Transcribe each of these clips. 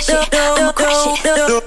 it, I'ma crush it.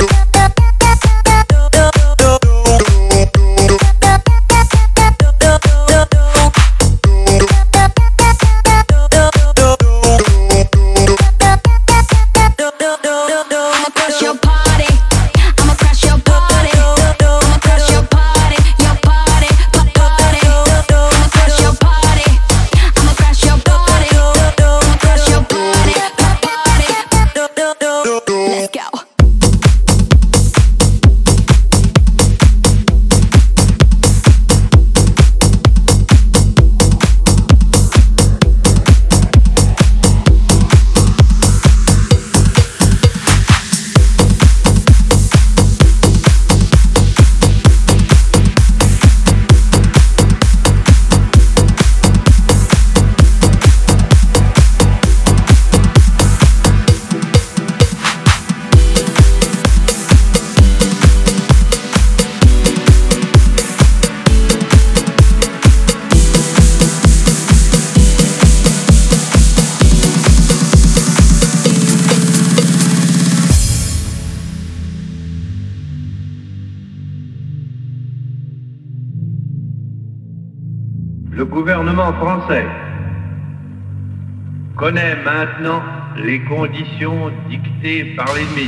Le gouvernement français connaît maintenant les conditions dictées par l'ennemi.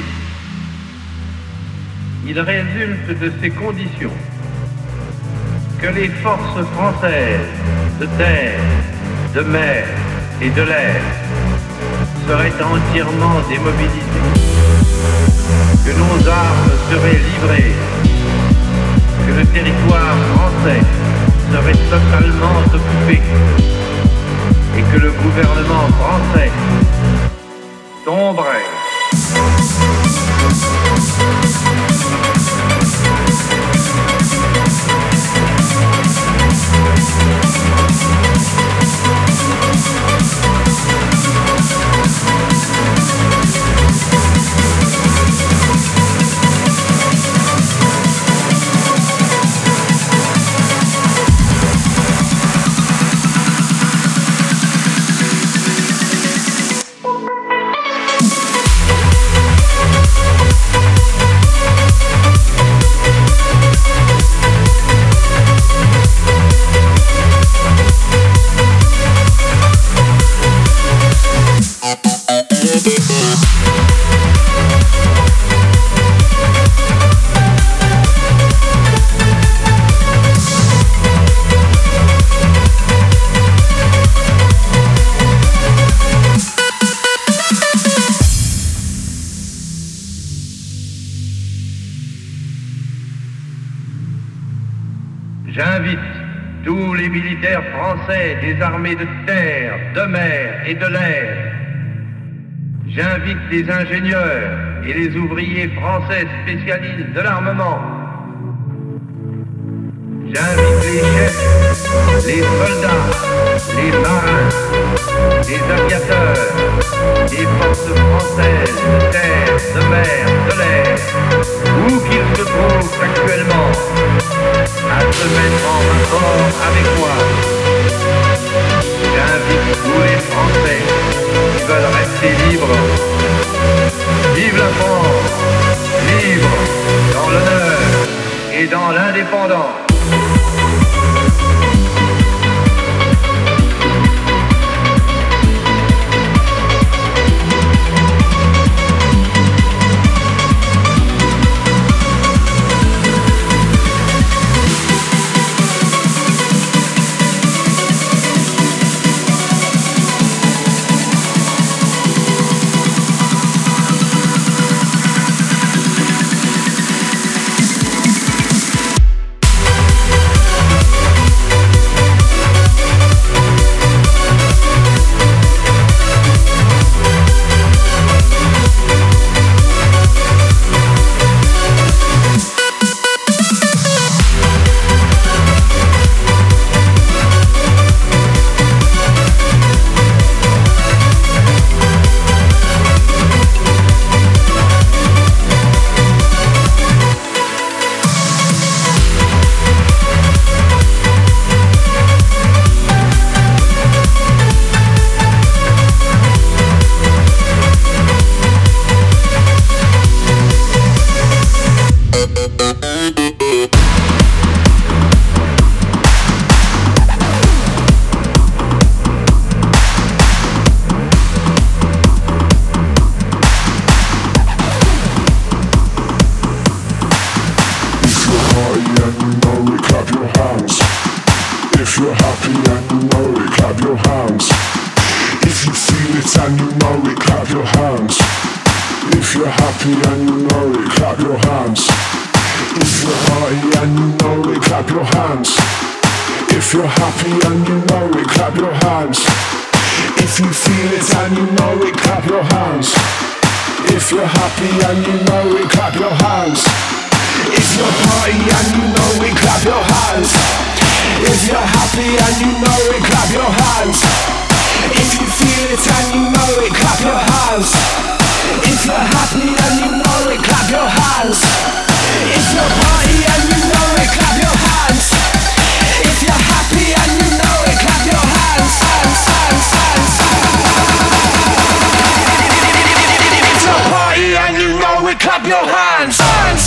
Il résulte de ces conditions que les forces françaises de terre, de mer et de l'air seraient entièrement démobilisées, que nos armes seraient livrées, que le territoire français serait totalement occupé et que le gouvernement français tomberait. J'invite tous les militaires français des armées de terre, de mer et de l'air. J'invite les ingénieurs et les ouvriers français spécialistes de l'armement. J'invite les chefs, les soldats, les marins, les aviateurs, les forces françaises de terre, de mer, de l'air, où qu'ils se trouvent actuellement, à se mettre en rapport avec moi. J'invite tous les Français qui veulent rester libres. Vive la France, libre dans l'honneur et dans l'indépendance. If you're happy and you know it, clap your hands. If you feel it and you know it, clap your hands. If you're happy and you know it, clap your hands. If you're party and you know it, clap your hands. If you're happy and you know it, clap your hands. If you feel it and you know it, clap your hands. If you're happy and you know it, clap your hands. If you're party and you know it, clap your hands. If you're happy and you know it, clap your hands. If you feel it and you know it, clap your hands. If you're happy and you know it, clap your hands. If you're party and you know it, clap your hands. If you're happy and you know it, clap your hands. If you're party and you know it, clap your hands.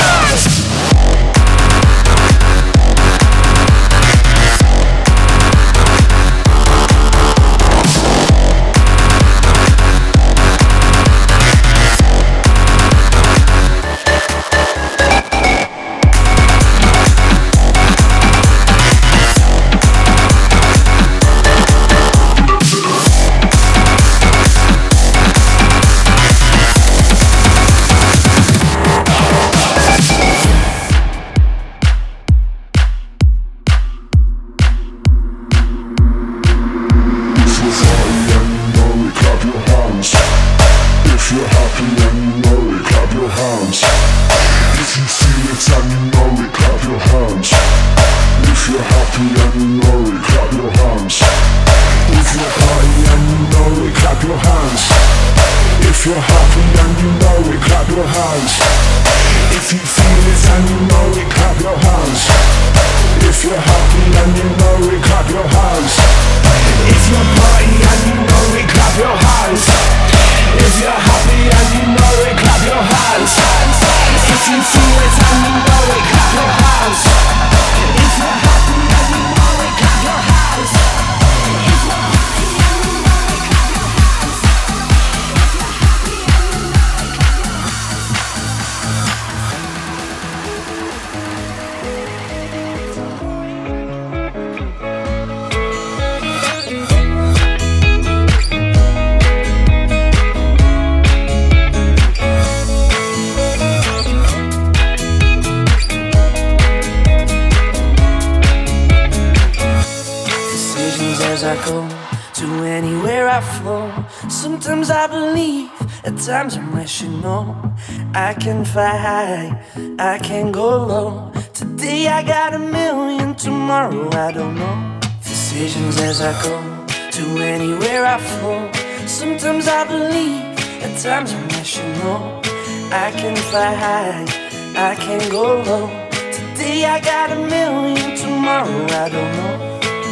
Sometimes I believe, at times I'm rational. I can fly high, I can go low. Today I got a million, tomorrow I don't know. Decisions as I go, to anywhere I flow. Sometimes I believe, at times I'm rational. I can fly high, I can go low. Today I got a million, tomorrow I don't know.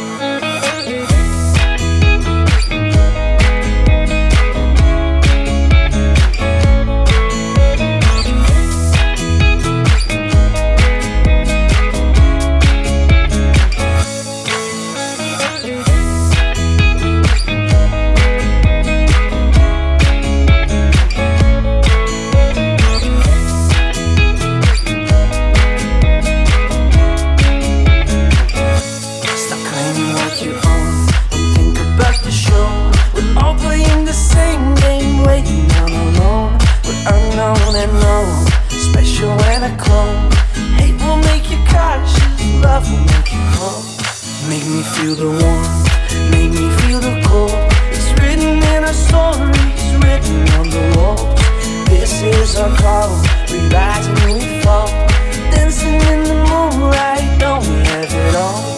Feel the warmth, make me feel the cold. It's written in our stories, written on the walls. This is our call, we rise and we fall. Dancing in the moonlight, don't we have it all?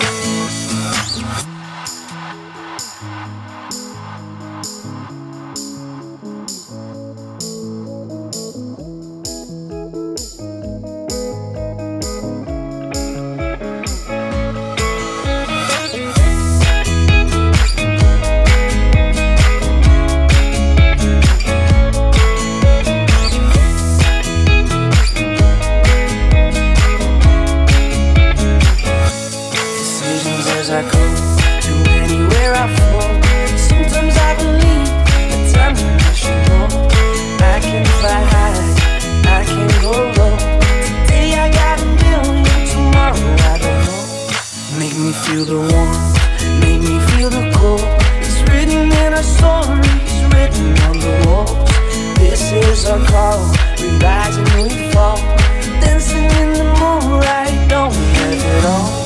Feel the warmth, tears are cold, we rise and we fall, dancing in the moonlight, don't we have it all?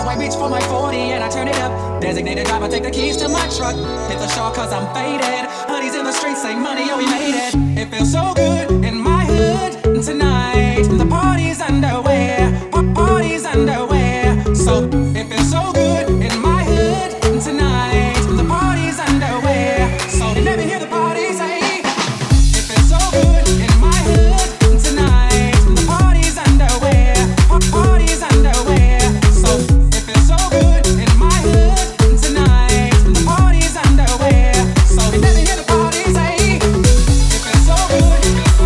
I reach for my 40 and I turn it up. Designated driver, take the keys to my truck. Hit the shore cause I'm faded. Honey's in the streets, say money, oh we made it. It feels so good in my hood tonight. The party's underway, party's underway. So it feels so good in my hood tonight. The party's underway. So you never hear the party say. It feels so good in my hood tonight. The party's underway, party's underway. So it feels so good in my hood tonight. The party's underway. So you never hear the party say. It feels so good.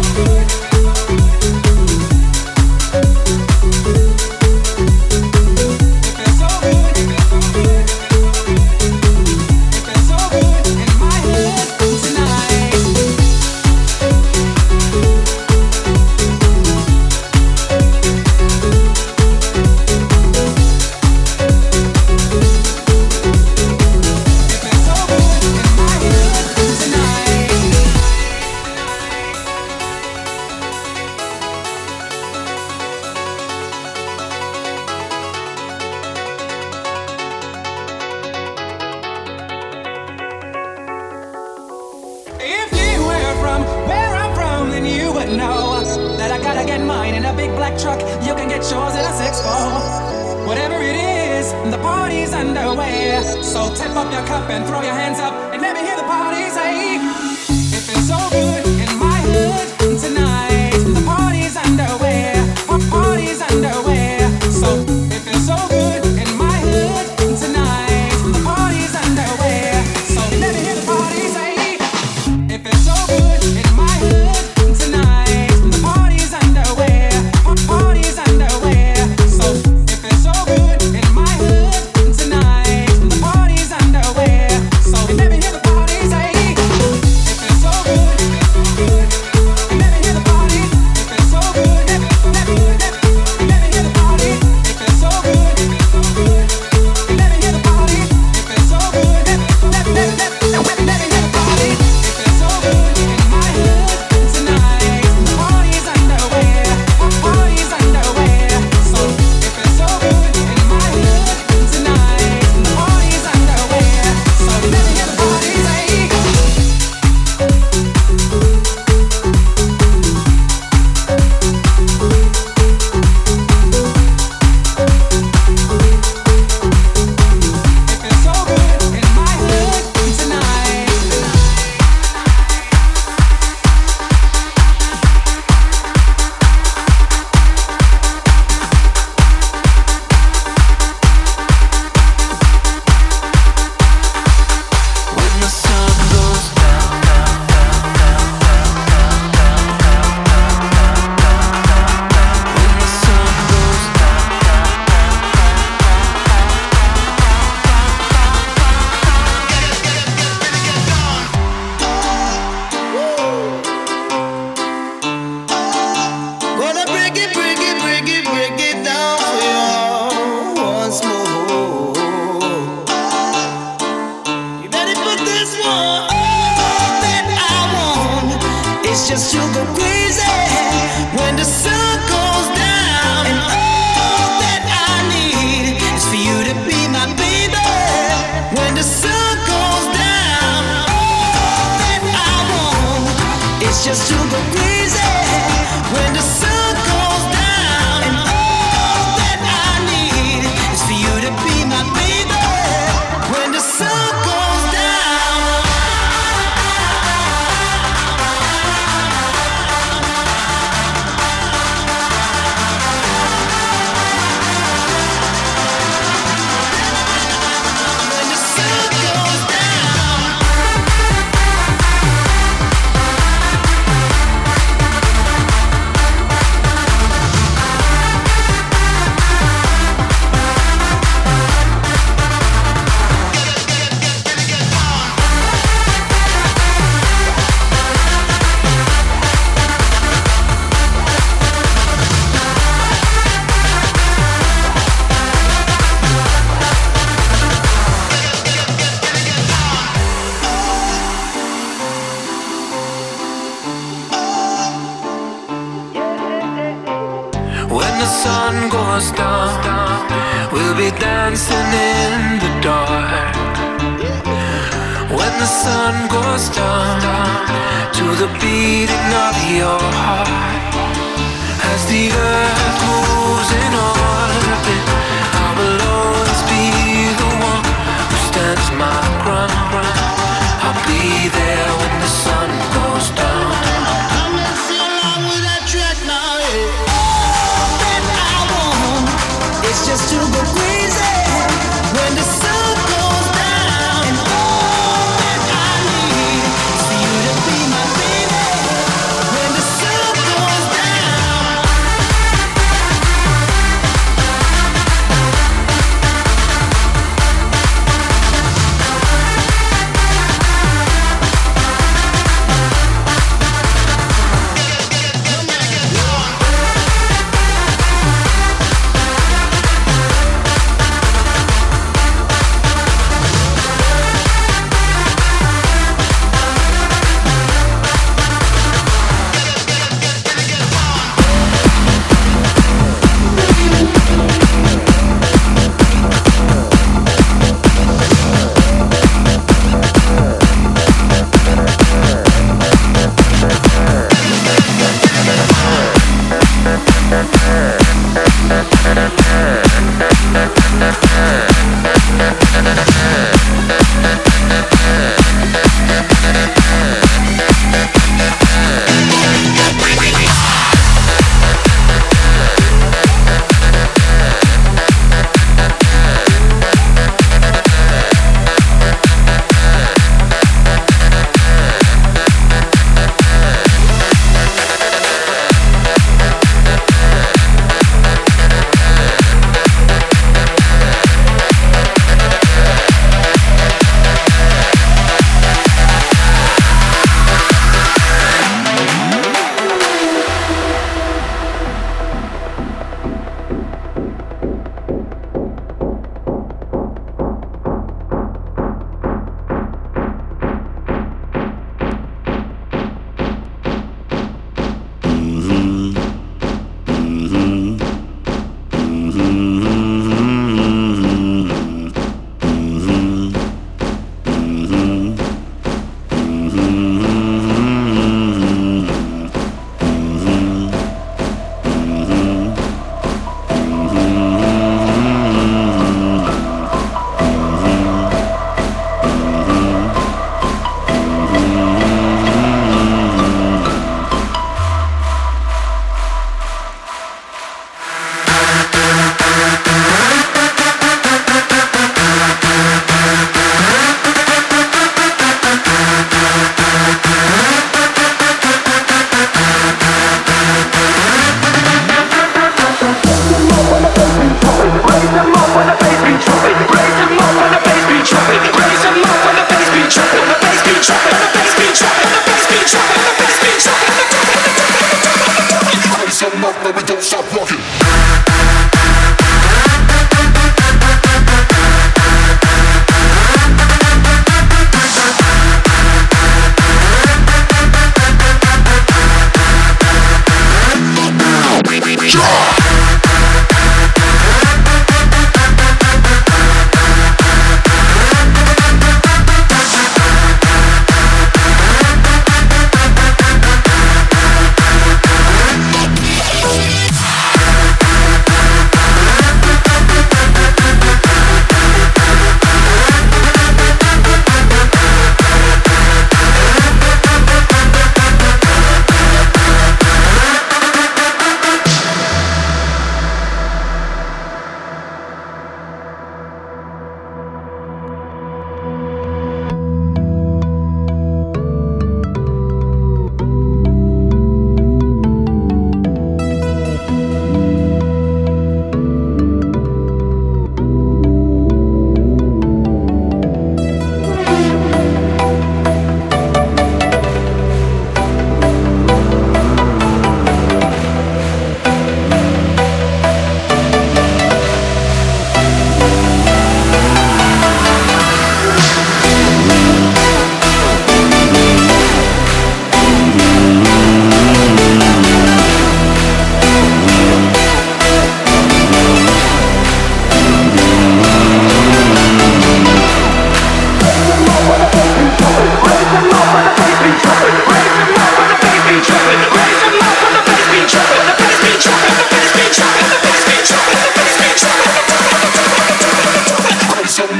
If you were from where I'm from, then you would know that I gotta get mine in a big black truck. You can get yours in a 6'4". Whatever it is, the party's underway. So tip up your cup and throw your hands up and let me hear the party say. It feels so good in my hood tonight. The party's underway, party's underway. So it feels so good in my hood tonight. The party's underway. So let me hear the party say. It feels so good in my hood tonight. The party's underway, party's underway. So it feels so good in my hood tonight. The party's underway. So let me hear the party say. It feels so good. Let me hear the party. It feels so good. Let me hear the party. It feels so good. Let me hear the party. It feels so good. Let me hear the party. It feels so good in my hood tonight. The party's underway, party's underway. So it feels so good in my hood tonight. The party's underway. So let me hear the party say. It feels so good in my hood tonight. When the sun goes down, when the sun goes Gonna break it, break it, break it, break it down for you once more. You ready for this one? All that I want is just to go crazy when the sun goes down. And all that I need is for you to be my baby when the sun goes down. All that I want is just to go crazy when the sun goes down. And all that I need is for you to be my baby when the sun goes down. When the sun goes down. When the sun goes down, We'll be dancing in the dark when the sun goes down to the beating of your heart. As the earth moves in orbit, I will always be the one who stands my ground. I'll be there when the sun goes down. I'm gonna sing along with that track now, yeah. All that I want is just to go crazy when the sun goes down. And all that I need is for you to be my baby when the sun goes down.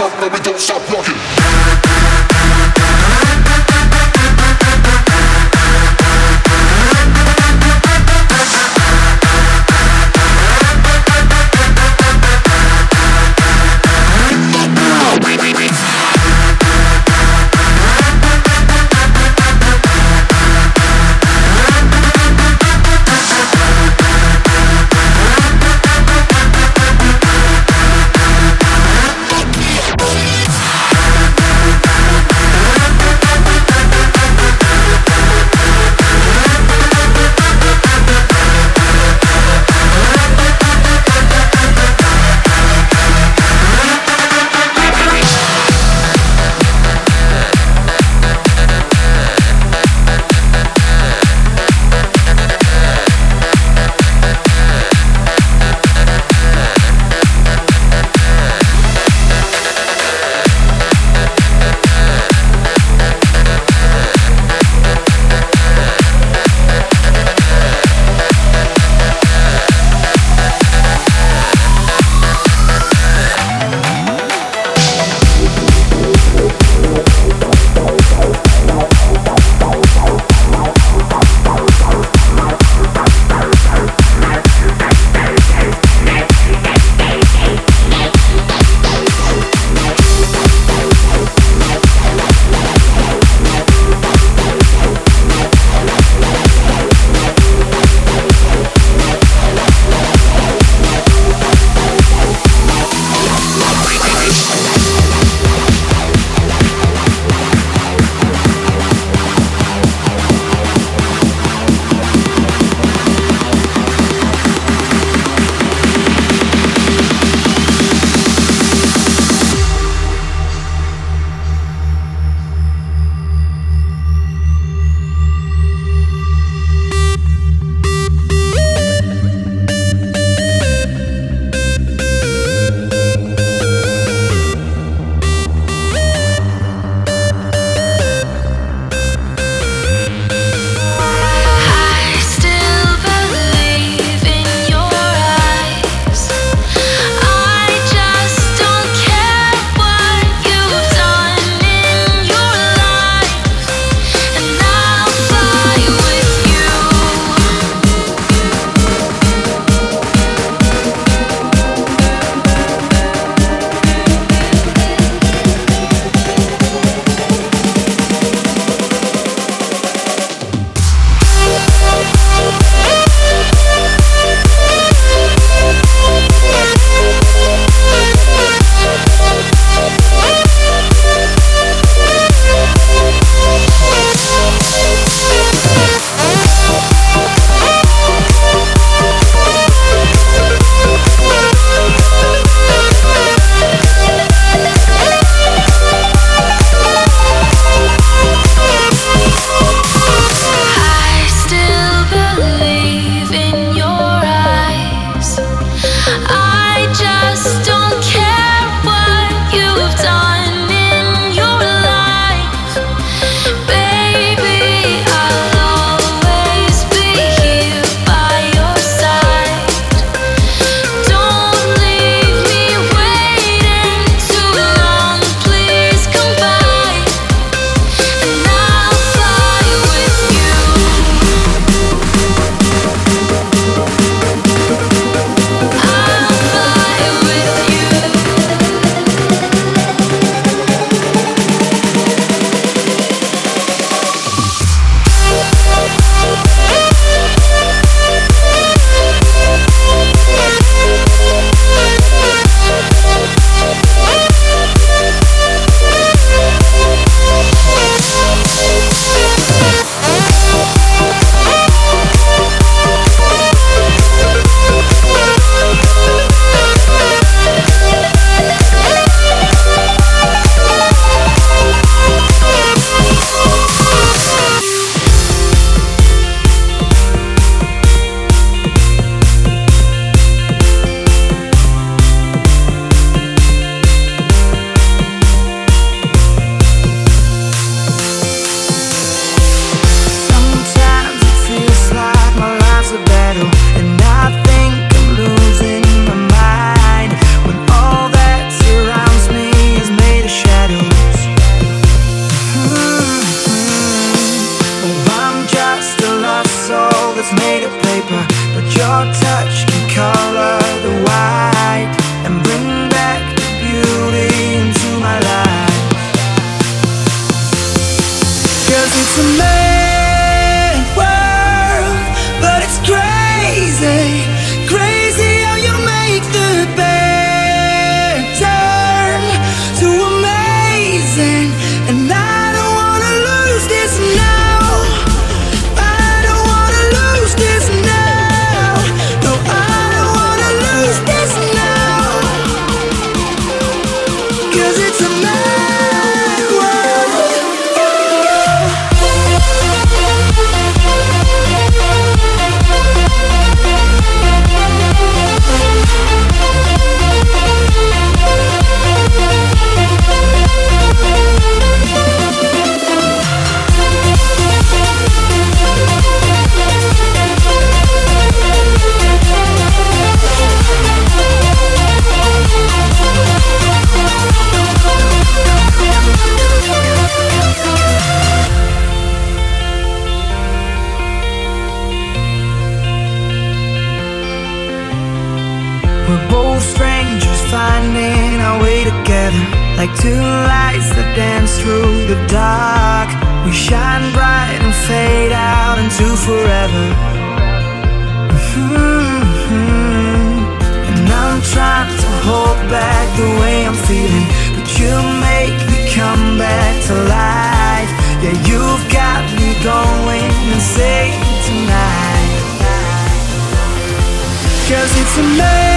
up, but we don't stop rocking. like two lights that dance through the dark. We shine bright and fade out into forever. And I'm trying to hold back the way I'm feeling, but you make me come back to life. Yeah, you've got me going insane tonight. 'Cause it's amazing